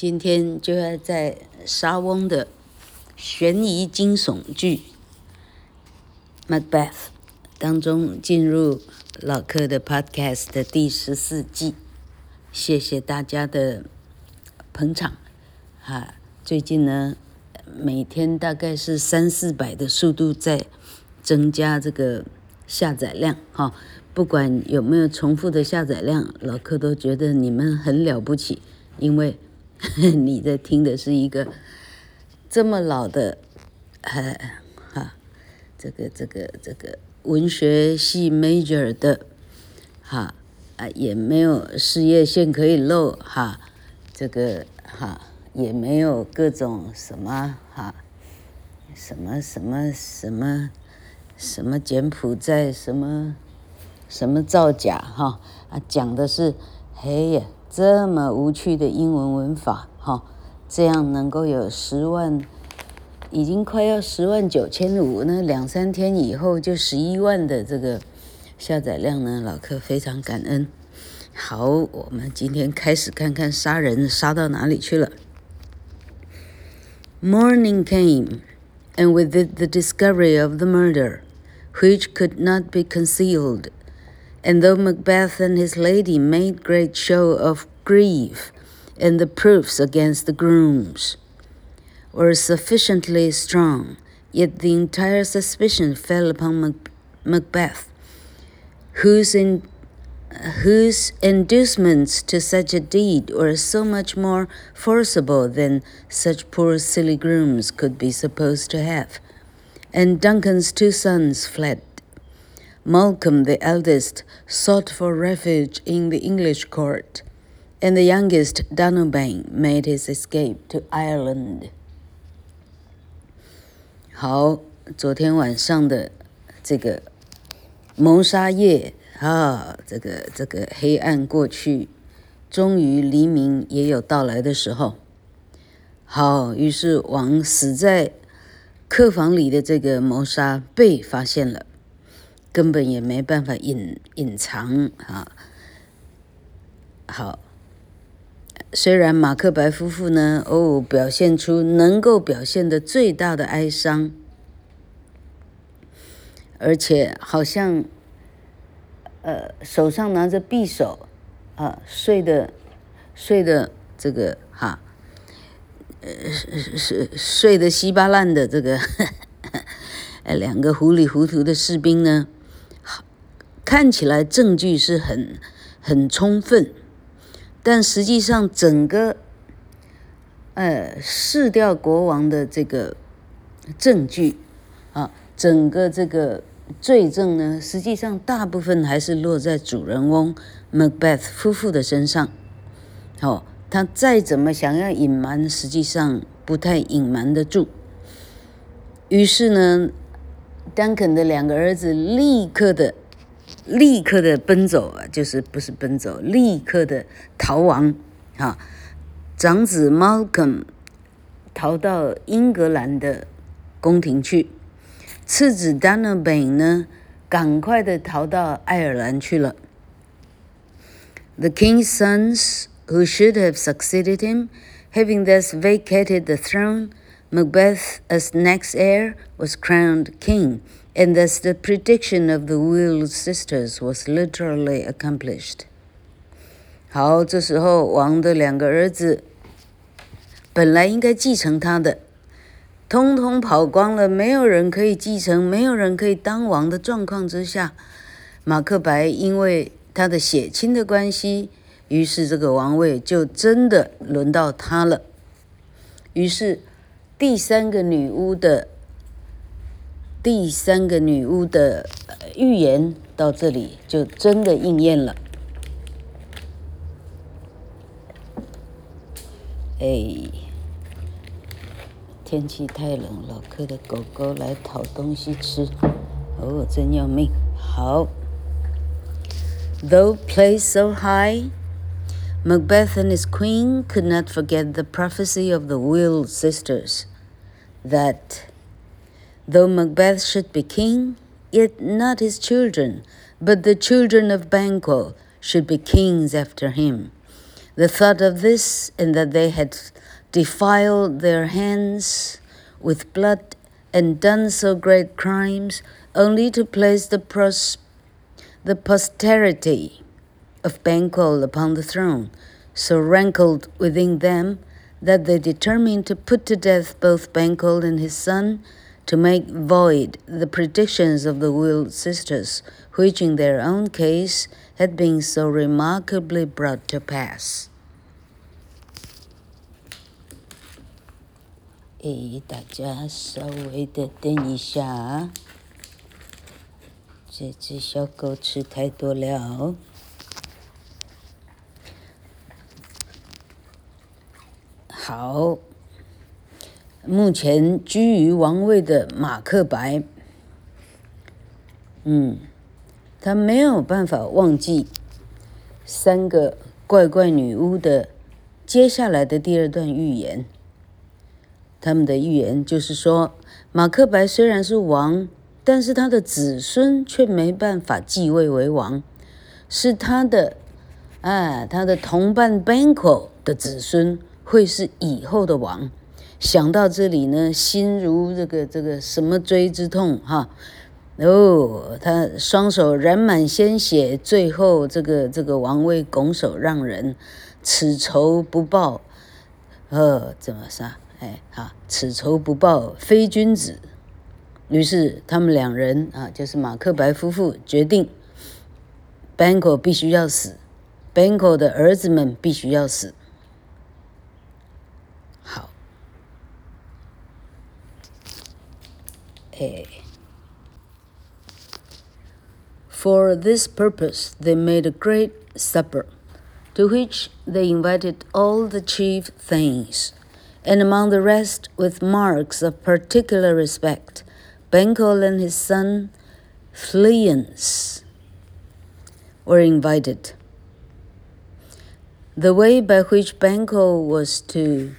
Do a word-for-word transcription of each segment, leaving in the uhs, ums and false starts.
今天就要在莎翁的懸疑驚悚劇《Macbeth》當中進入老柯的 Podcast 的第十四季，謝謝大家的捧場。哈，最近呢，每天大概是三四百的速度在增加這個下載量哈。不管有沒有重複的下載量，老柯都覺得你們很了不起，因為你在聽的是一個這麼老的，呃，哈，這個這個這個文學系 major 的，哈，啊也沒有事業線可以露，哈，這個哈也沒有各種什麼哈，什麼什麼什麼什麼柬埔寨什麼什麼造假哈啊，講的是嘿呀。這麼無趣的英文文法，哈，這樣能夠有十萬，已經快要十萬九千五，那兩三天以後就十一萬的這個下載量呢，老柯非常感恩。好，我們今天開始看看殺人殺到哪裡去了。Morning came, and with it the discovery of the murder, which could not be concealed.And though Macbeth and his lady made great show of grief, and the proofs against the grooms were sufficiently strong, yet the entire suspicion fell upon Mac- Macbeth, whose, in, whose inducements to such a deed were so much more forcible than such poor silly grooms could be supposed to have. And Duncan's two sons fled.Malcolm, the eldest, sought for refuge in the English court, and the youngest, Donalbain, made his escape to Ireland. 好，昨天晚上的這個謀殺夜啊，這個這個黑暗過去，終於黎明也有到來的時候。好，於是王死在客房裡的這個謀殺被發現了。根本也沒辦法隱隱藏啊！好，雖然馬克白夫婦呢，哦，表現出能夠表現的最大的哀傷，而且好像，呃，手上拿着匕首，啊，睡的睡的這個哈，呃，是睡的稀巴爛的這個，呃，兩個糊裡糊塗的士兵呢。看起來證據是很很充分，但實際上整個呃弒掉國王的這個證據啊，整個這個罪證呢，實際上大部分還是落在主人翁 Macbeth 夫婦的身上。哦，他再怎麼想要隱瞞，實際上不太隱瞞得住。於是呢，丹肯的兩個兒子立刻的。立刻的奔走啊，就是不是奔走，立刻的逃亡啊！長子 Malcolm 逃到英格蘭的宮廷去，次子 Donalbain 呢，趕快的逃到愛爾蘭去了。The king's sons, who should have succeeded him, having thus vacated the throne, Macbeth, as next heir, was crowned king.And thus the prediction of the Will sisters was literally accomplished. 好，這時候王的兩個兒子本來應該繼承他的，通通跑光了，沒有人可以繼承，沒有人可以當王的狀況之下，馬克白因為他的血親的關係，於是這個王位就真的輪到他了。於是第三個女巫的第三個女巫的預言到這裡就真的應驗了。哎，天氣太冷，老柯的狗狗來討東西吃，哦，真要命。好 ，Though placed so high, Macbeth and his queen could not forget the prophecy of the Will sisters, that.Though Macbeth should be king, yet not his children, but the children of Banquo should be kings after him. The thought of this, and that they had defiled their hands with blood and done so great crimes, only to place the, pros- the posterity of Banquo upon the throne, so rankled within them that they determined to put to death both Banquo and his son, to make void the predictions of the Will sisters, which in their own case had been so remarkably brought to pass. 誒，大家稍微的等一下，這隻小狗吃太多了。好，目前居於王位的馬克白，嗯，他沒有辦法忘記三個怪怪女巫的接下來的第二段預言。他們的預言就是說，馬克白雖然是王，但是他的子孫卻沒辦法繼位為王，是他的，啊，他的同伴 Banquo 的子孫會是以後的王。想到這裡呢，心如這個這個什麼錐之痛哈，哦，他雙手染滿鮮血，最後這個這個王位拱手讓人，此仇不報，呃，怎麼殺？哎，好，此仇不報非君子。於是他們兩人啊，就是馬克白夫婦決定 ，Banquo 必須要死 ，Banquo 的兒子們必須要死。好，哎 ，For this purpose they made a great supper, to which they invited all the chief things.And among the rest, with marks of particular respect, Banquo and his son Fleance were invited. The way by which Banquo was to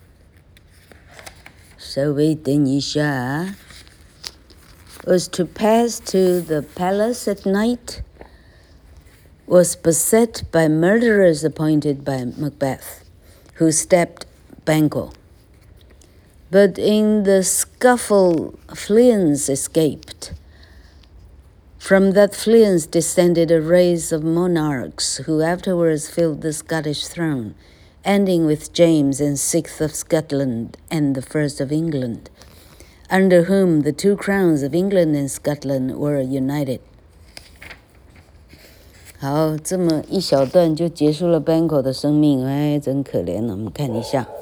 稍微等一下 was to pass to the palace at night was beset by murderers appointed by Macbeth, who stabbed Banquo. But in the scuffle, Fleance escaped. From that Fleance descended a race of monarchs who afterwards filled the Scottish throne, ending with James and sixth of Scotland and the first of England, under whom the two crowns of England and Scotland were united. 好，这麼一小段就結束了 Banquo 的生命，哎，真可憐了。我們看一下，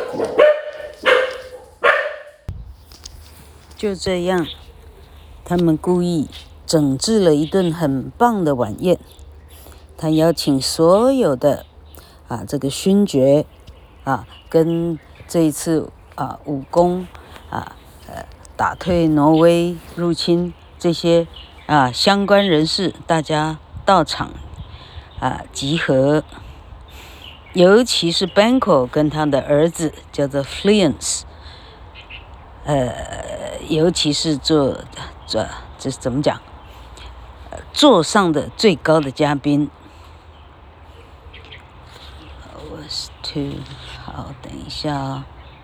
就這樣，他們故意整治了一頓很棒的晚宴。他邀請所有的啊，這個勳爵啊，跟這一次啊武功啊，呃，打退挪威入侵這些啊相關人士，大家到場啊集合，尤其是 Banquo 跟他的兒子叫做 Fleance， 呃，尤其是做這這怎麼講？座上的最高的嘉賓。was to 好，等一下啊、哦。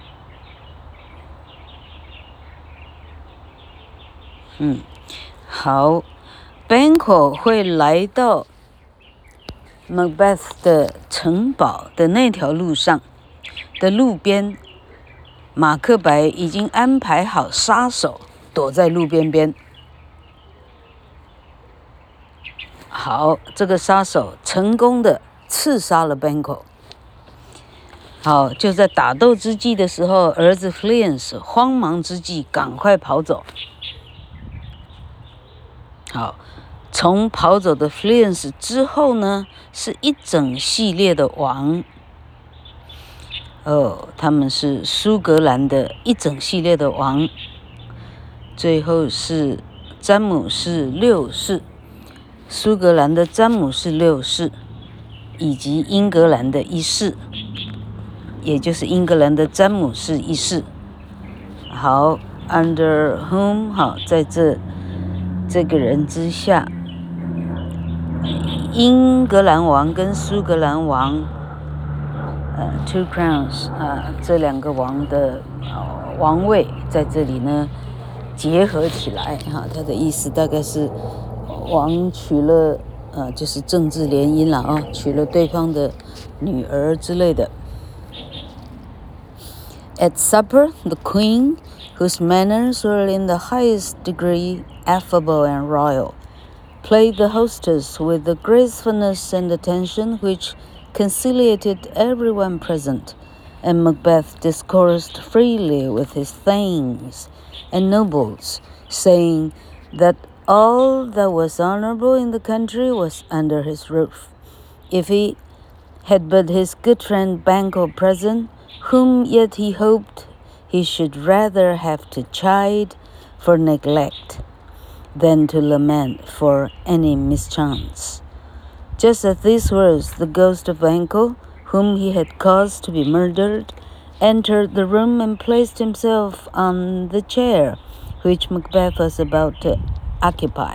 嗯，好。Banquo 會來到 Macbeth 的城堡的那條路上的路邊，馬克白已經安排好殺手躲在路邊邊。好，這個殺手成功的刺殺了 Banquo。好，就在打鬥之際的時候，兒子 Fleance 慌忙之際趕快跑走。好。從跑走的 Fleance 之後呢，是一整系列的王。哦，他們是蘇格蘭的一整系列的王。最後是詹姆士六世，蘇格蘭的詹姆士六世，以及英格蘭的一世，也就是英格蘭的詹姆士一世。好 ，under whom 好，在這這個人之下。英格蘭王跟蘇格蘭王呃 two crowns 啊、呃，這兩個王的、呃、王位在這裡呢結合起來哈，他的意思大概是王娶了呃就是政治聯姻了啊，娶了對方的女兒之類的。At supper, the queen, whose manners were in the highest degree affable and royal, played the hostess with the gracefulness and attention which conciliated everyone present, and Macbeth discoursed freely with his thanes and nobles, saying that all that was honorable in the country was under his roof. If he had but his good friend Banquo present, whom yet he hoped he should rather have to chide for neglect than to lament for any mischance. Just at these words, the ghost of Banquo, whom he had caused to be murdered, entered the room and placed himself on the chair which Macbeth was about to occupy.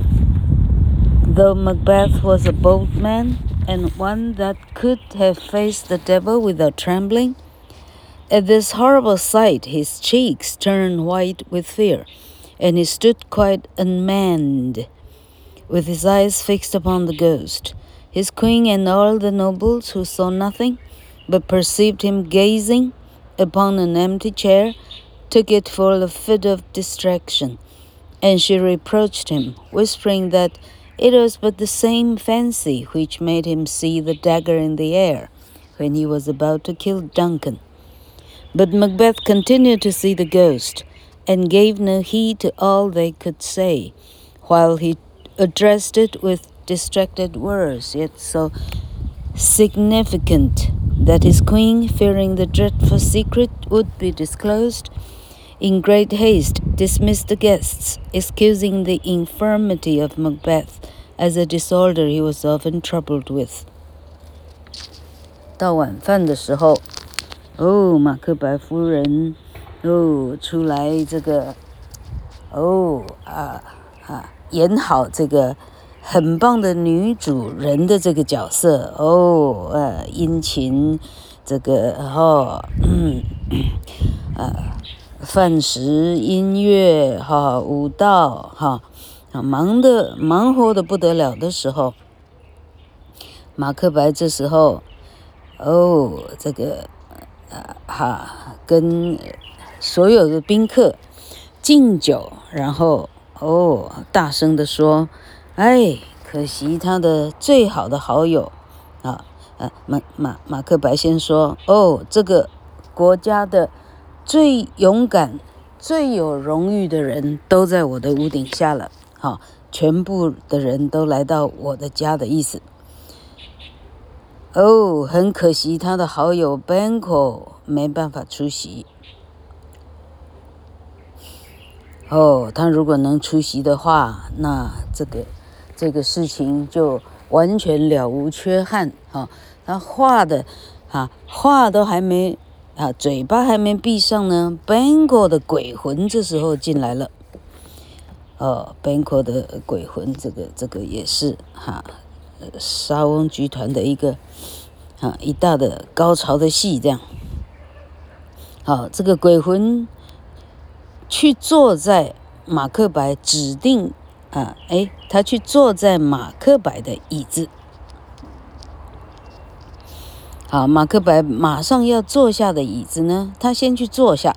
Though Macbeth was a bold man, and one that could have faced the devil without trembling, at this horrible sight his cheeks turned white with fear, and he stood quite unmanned, with his eyes fixed upon the ghost. His queen and all the nobles, who saw nothing, but perceived him gazing upon an empty chair, took it for a fit of distraction, and she reproached him, whispering that it was but the same fancy which made him see the dagger in the air when he was about to kill Duncan. But Macbeth continued to see the ghost, and gave no heed to all they could say, while he addressed it with distracted words, yet so significant that his queen, fearing the dreadful secret would be disclosed, in great haste dismissed the guests, excusing the infirmity of Macbeth as a disorder he was often troubled with. 到晚飯的時候，哦，馬克白夫人，哦，出來這個，哦啊啊，演好這個很棒的女主人的這個角色，哦，呃，殷勤，這個哦，嗯，呃。飯食、音樂、哈、舞蹈、哈，忙的忙活的不得了的時候，馬克白這時候，哦，這個，呃，哈，跟所有的賓客敬酒，然後哦，大聲的說，哎，可惜他的最好的好友，啊，呃，馬馬馬克白先說，哦，這個國家的最勇敢、最有榮譽的人都在我的屋頂下了，好，全部的人都來到我的家的意思。哦，很可惜他的好友 Banquo 沒辦法出席。哦，他如果能出席的話，那這個這個事情就完全了無缺憾。哈，他話的，哈，話都還沒。啊，嘴巴還沒閉上呢 Banquo 的鬼魂這時候進來了。哦 Banquo 的鬼魂，這個這個也是哈，莎翁劇團的一個啊一大的高潮的戲，這樣。好，這個鬼魂去坐在馬克白指定啊，哎，他去坐在馬克白的椅子。好，馬克白馬上要坐下的椅子呢，他先去坐下。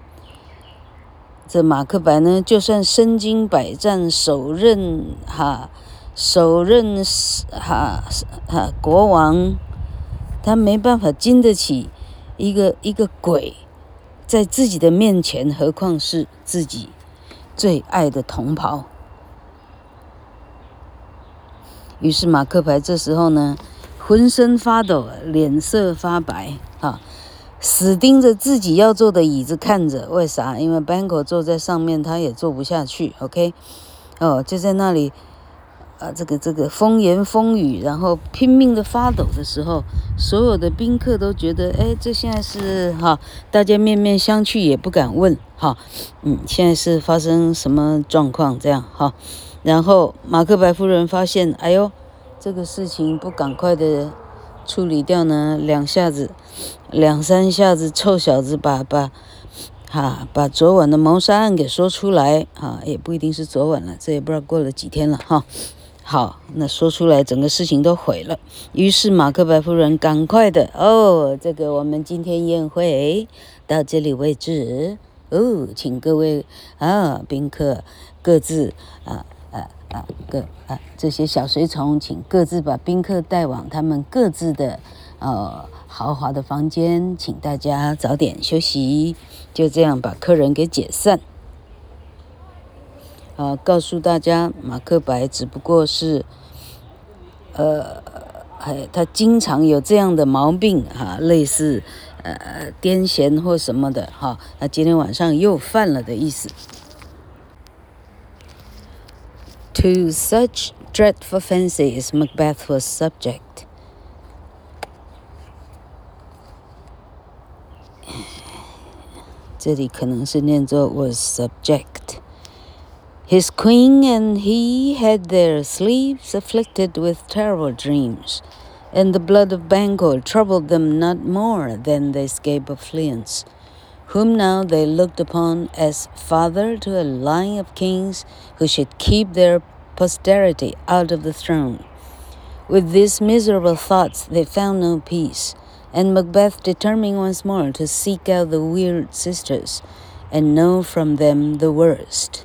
這馬克白呢，就算身經百戰，首任哈，首任哈哈國王，他沒辦法經得起一個一個鬼在自己的面前，何況是自己最愛的同袍。於是馬克白這時候呢，渾身發抖，臉色發白，啊，死盯着自己要坐的椅子看着。為啥？因為 Banquo 坐在上面，他也坐不下去。OK， 哦，就在那裡，啊，這個這個風言風語，然後拼命的發抖的時候，所有的賓客都覺得，哎，這現在是哈，大家面面相覷，也不敢問，哈，嗯，現在是發生什麼狀況？這樣哈，然後馬克白夫人發現，哎呦。這個事情不趕快的處理掉呢，兩下子，兩三下子，臭小子把把，哈、啊，把昨晚的謀殺案給說出來啊，也不一定是昨晚了，這也不知道過了幾天了哈。好，那說出來，整個事情都毀了。於是馬克白夫人趕快的哦，這個我們今天宴會到這裡為止哦，請各位啊賓客各自啊。啊啊，各啊這些小隨從，請各自把賓客帶往他們各自的呃豪華的房間，請大家早點休息。就這樣把客人給解散。啊，告訴大家，馬克白只不過是，呃，哎，他經常有這樣的毛病哈、啊，類似呃癲癇或什麼的哈，那、啊、今天晚上又犯了的意思。To such dreadful fancies Macbeth was subject. 這裡可能是念作 was subject. His queen and he had their sleeves afflicted with terrible dreams, and the blood of Banquo troubled them not more than the escape of Fleance, whom now they looked upon as father to a line of kings who should keep their posterity out of the throne. With these miserable thoughts they found no peace, and Macbeth determined once more to seek out the weird sisters and know from them the worst.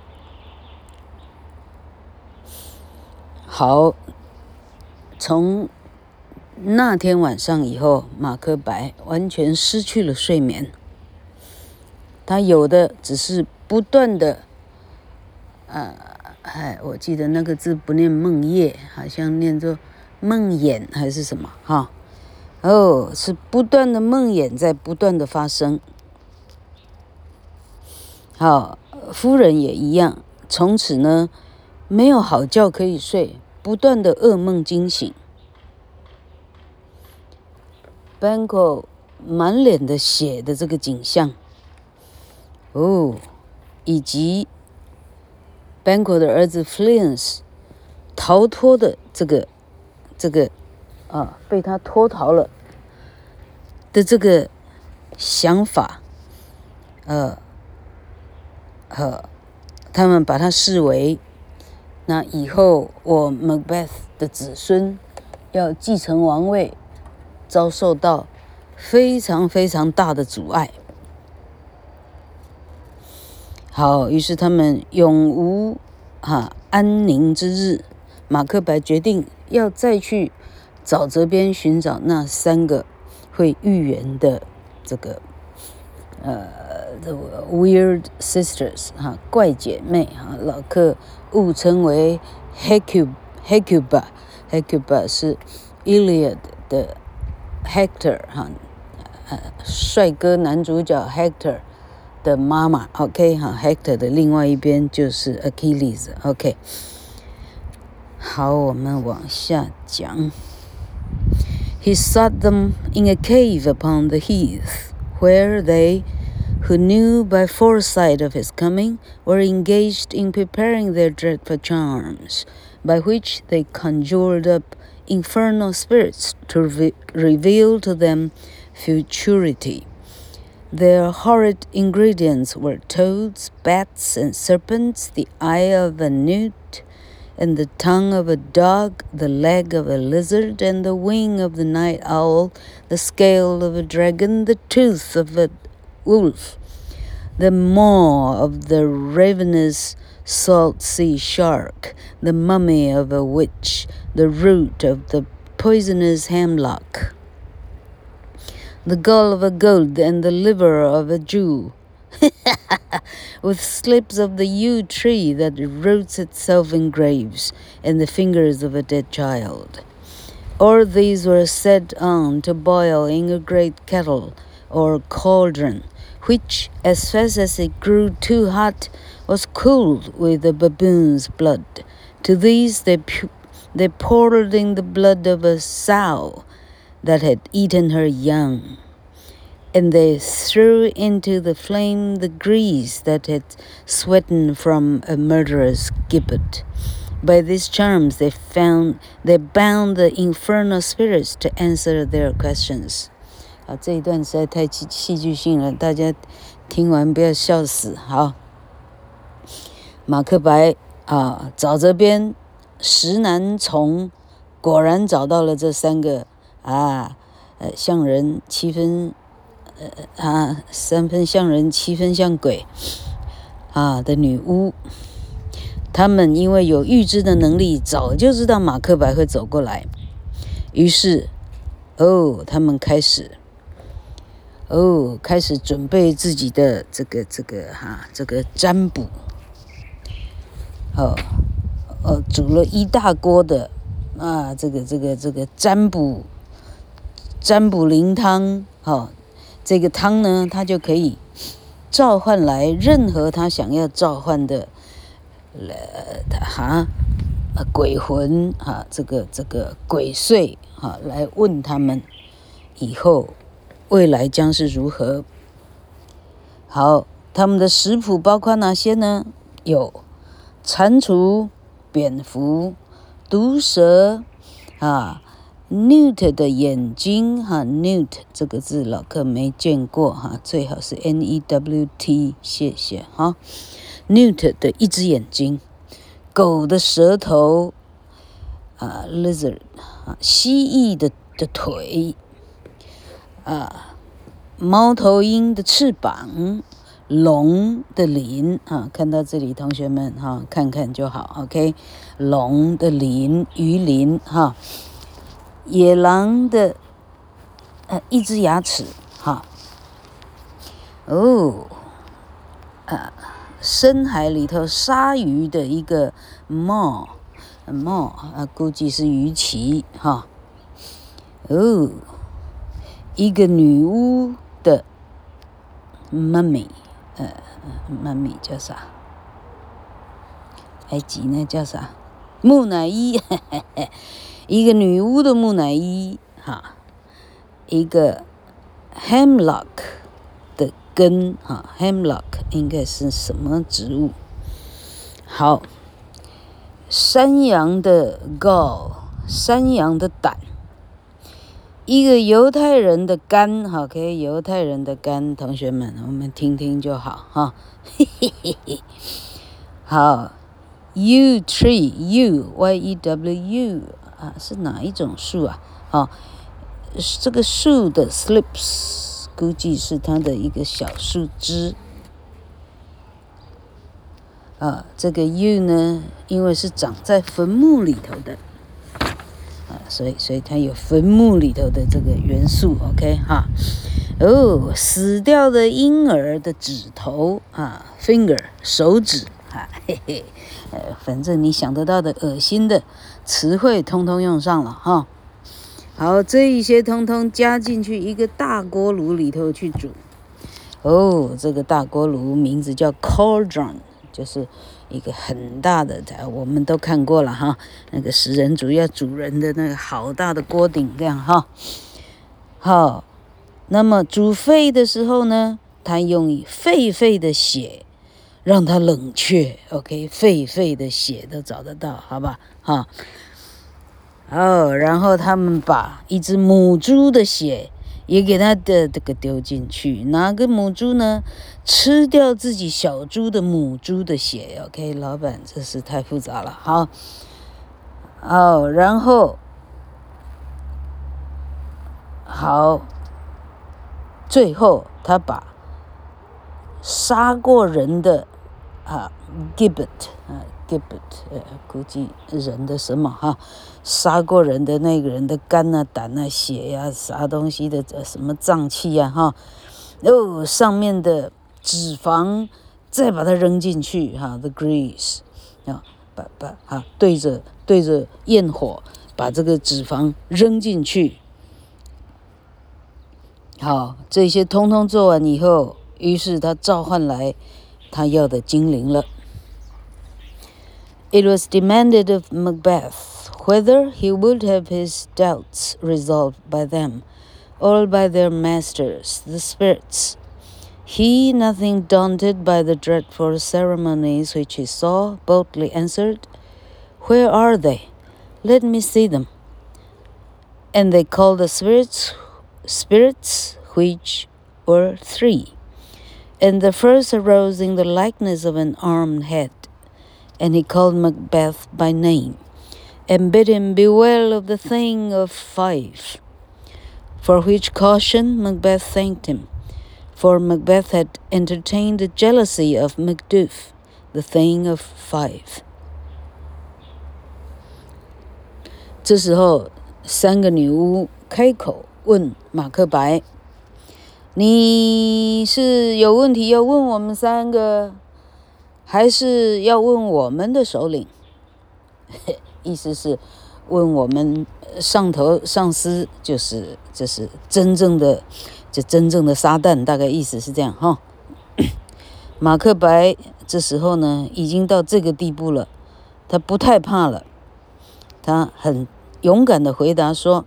好，從那天晚上以後，馬克白完全失去了睡眠。他有的只是不斷的，呃，哎，我記得那個字不念夢夜，好像念作夢魘還是什麼哈？哦，是不斷的夢魘在不斷的發生。好，夫人也一樣，從此呢，沒有好覺可以睡，不斷的噩夢驚醒。Banquo 滿臉的血的這個景象。哦，以及 Banquo 的兒子 Fleance 逃脫的這個這個啊，被他脫逃了的這個想法，呃，呃，他們把他視為那以後我 Macbeth 的子孫要繼承王位，遭受到非常非常大的阻礙。好，於是他們永無哈、啊、安寧之日。馬克白決定要再去沼澤邊尋找那三個會預言的這個呃 the weird sisters 哈、啊、怪姐妹哈、啊，老客誤稱為 Hecuba Hecuba Hecuba 是 Iliad 的 Hector 哈、啊，呃帥哥男主角 Hector。的媽媽 ，OK 哈 ，Hector 的另外一邊就是 Achilles，OK。好，我們往下講。He sought them in a cave upon the heath, where they, who knew by foresight of his coming, were engaged in preparing their dreadful charms, by which they conjured up infernal spirits to re- reveal to them futurity.Their horrid ingredients were toads, bats, and serpents, the eye of a newt, and the tongue of a dog, the leg of a lizard, and the wing of the night owl, the scale of a dragon, the tooth of a wolf, the maw of the ravenous salt sea shark, the mummy of a witch, the root of the poisonous hemlock.The gall of a goat and the liver of a Jew, with slips of the yew tree that roots itself in graves, and the fingers of a dead child. All these were set on to boil in a great kettle or cauldron, which, as fast as it grew too hot, was cooled with the baboon's blood. To these they, pu- they poured in the blood of a sow,that had eaten her young, and they threw into the flame the grease that had sweaten from a murderer's gibbet. By these charms, they found they bound the infernal spirits to answer their questions. 啊，這一段實在太戲戲劇性了，大家聽完不要笑死。好，馬克白啊，找這邊石楠叢，果然找到了這三個啊，呃，像人七分，呃啊，三分像人，七分像鬼啊的女巫。他們因為有預知的能力，早就知道馬克白會走過來，於是，哦，他們開始，哦，開始準備自己的這個這個哈、啊，這個占卜，哦，哦，煮了一大鍋的啊，這個這個這個占卜占卜靈湯，哦，這個湯呢，它就可以召喚來任何他想要召喚的。呃，哈，鬼魂哈，這個這個鬼祟哈，來問他們以後未來將是如何。好，他們的食譜包括哪些呢？有蟾蜍、蝙蝠、毒蛇啊 ，newt 的眼睛哈 ，newt 這個字老客沒見過哈，最好是 N E W T， 謝謝哈。newt 的一隻眼睛，狗的舌頭，啊 ，lizard 啊，蜥蜴的的腿，啊，貓頭鷹的翅膀，龍的鱗啊，看到這裡，同學們哈、啊，看看就好 ，OK， 龍的鱗，魚鱗哈，野狼的呃一隻牙齒哈，哦，啊。深海裡頭鯊魚的一個 maw maw 啊，估計是魚鰭哈。哦，一個女巫的 mummy， 呃 mummy 叫啥？埃及那叫啥？木乃伊，呵呵呵，一個女巫的木乃伊哈，一個 hemlock。根哈 ，hemlock 應該是什麼植物？好，山羊的 gall， 山羊的膽，一個猶太人的肝，好，可以猶太人的肝，同學們，我們聽聽就好哈。嘿嘿嘿嘿，好 ，yew tree，yew y e w u 啊，是哪一種樹啊？哦，這個樹的 slips。估計是它的一個小樹枝啊，這個 yew 呢，因為是長在墳墓裡頭的啊，所以所以它有墳墓裡頭的這個元素 ，OK 哈。哦，死掉的嬰兒的指頭啊 ，finger 手指啊，嘿嘿，呃，反正你想得到的噁心的詞彙，通通用上了哈。好，這一些通通加進去一個大鍋爐裡頭去煮。哦，這個大鍋爐名字叫 cauldron， 就是一個很大的，我們都看過了哈。那個食人族要煮人的那個好大的鍋頂這樣哈。好，那麼煮沸的時候呢，他用狒狒的血讓它冷卻。OK， 狒狒的血都找得到，好吧？哈。哦，然後他們把一隻母豬的血也給它的這個丟進去，哪個母豬呢？吃掉自己小豬的母豬的血。OK， 老闆，這是太複雜了。好，哦，然後好，最後他把殺過人的啊 gibbet 啊 gibbet 呃，估計人的什麼哈？殺過人的那個人的肝啊、膽啊、血呀、啊、啥東西的什麼臟器呀、啊、哈，哦，上面的脂肪再把它扔進去哈 ，the grease 啊，把把哈對着對着焰火把這個脂肪扔進去。好，這些通通做完以後，於是他召喚來他要的精靈了。It was demanded of Macbeth whether he would have his doubts resolved by them, or by their masters, the spirits. He, nothing daunted by the dreadful ceremonies which he saw, boldly answered, Where are they? Let me see them. And they called the spirits, spirits which were three. And the first arose in the likeness of an armed head, and he called Macbeth by name, and bid him beware of the thing of five. For which caution Macbeth thanked him, for Macbeth had entertained the jealousy of Macduff, the thing of five. 這時候，三個女巫開口問馬克白：“你是有問題要問我們三個，還是要問我們的首領？”意思是問我們上頭上司，就是這是真正的，這真正的撒旦，大概意思是這樣哈。馬克白這時候呢，已經到這個地步了，他不太怕了，他很勇敢的回答說：“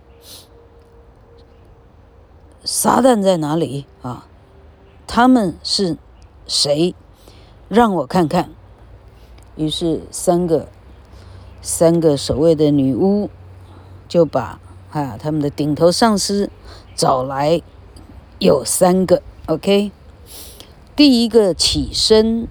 撒旦在哪裡啊？他們是誰？讓我看看。”於是三個三個所謂的女巫就把啊他們的頂頭上司找來，有三個 ，OK。第一個起身，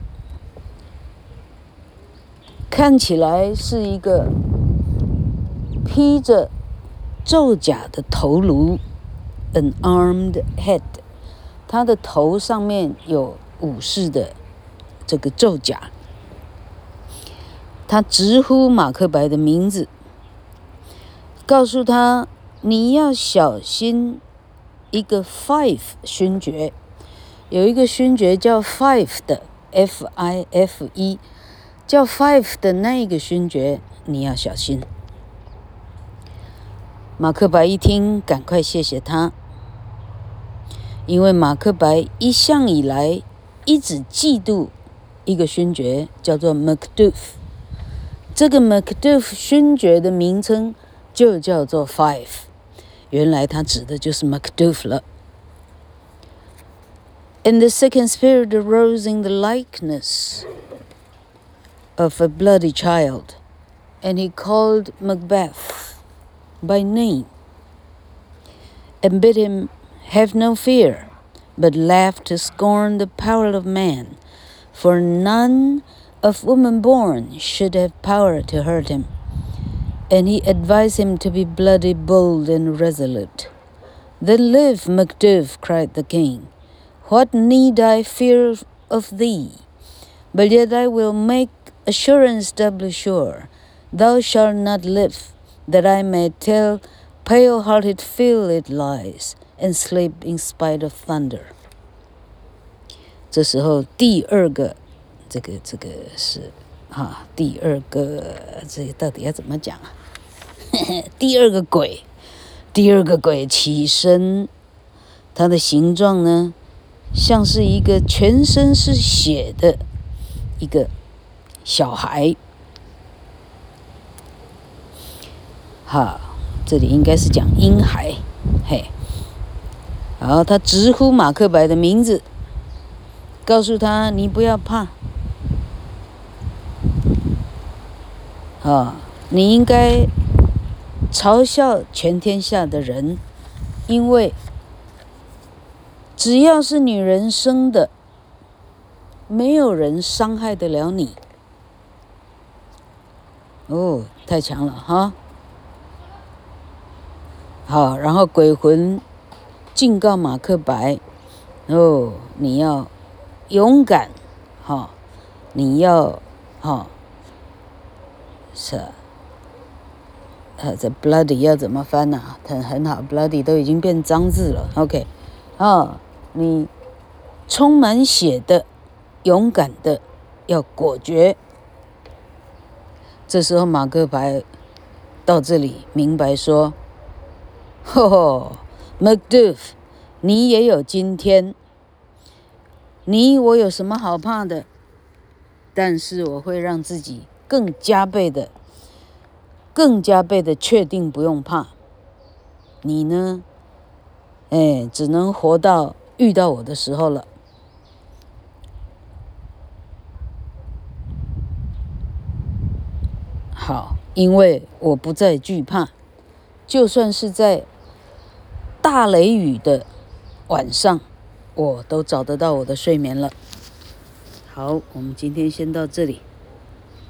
看起來是一個披着胄甲的頭顱 ，an armed head， 他的頭上面有武士的這個胄甲。他直呼馬克白的名字，告訴他你要小心一個 Fife 勳爵，有一個勳爵叫 Fife 的 F I F E， 叫 Fife 的那一個勳爵你要小心。馬克白一聽，趕快謝謝他，因為馬克白一向以來一直嫉妒一個勳爵，叫做 Macduff。這個 Macduff 勳爵的名稱就叫做 Fife， 原來他指的就是 Macduff 了。And the second spirit arose in the likeness of a bloody child, and he called Macbeth by name, and bid him have no fear, but laugh to scorn the power of man, for none of woman born should have power to hurt him. And he advised him to be bloody bold and resolute. Then live, Macduff, cried the king. What need I fear of thee? But yet I will make assurance doubly sure. Thou shalt not live, that I may tell pale-hearted Phil it lies, and sleep in spite of thunder. 這時候第二個這個這個是啊，第二個這到底要怎麼講啊？第二個鬼，第二個鬼起身，它的形狀呢，像是一個全身是血的一個小孩。哈，這裡應該是講嬰孩，嘿。然後他直呼馬克白的名字，告訴他：“你不要怕。”啊，你應該嘲笑全天下的人，因為只要是女人生的，沒有人傷害得了你。哦，太強了哈！好，然後鬼魂警告馬克白：哦，你要勇敢，哈，你要哈。是，呃，這 bloody 要怎麼翻呢、啊？很很好 ，bloody 都已經變髒字了。OK， 啊，你充滿血的，勇敢的，要果決。這時候馬克白到這裡明白說：“吼吼 ，Macduff， 你也有今天。你我有什麼好怕的？但是我會讓自己。”更加倍的，更加倍的確定不用怕。你呢？哎，只能活到遇到我的時候了。 好，因為我不再懼怕，就算是在大雷雨的晚上，我都找得到我的睡眠了。好，我們今天先到這裡。